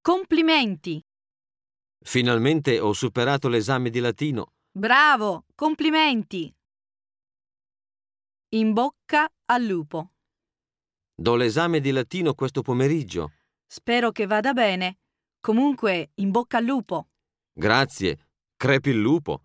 Complimenti! Finalmente ho superato l'esame di latino. Bravo! Complimenti! In bocca al lupo. Do l'esame di latino questo pomeriggio. Spero che vada bene. Comunque, in bocca al lupo. Grazie. Crepi il lupo.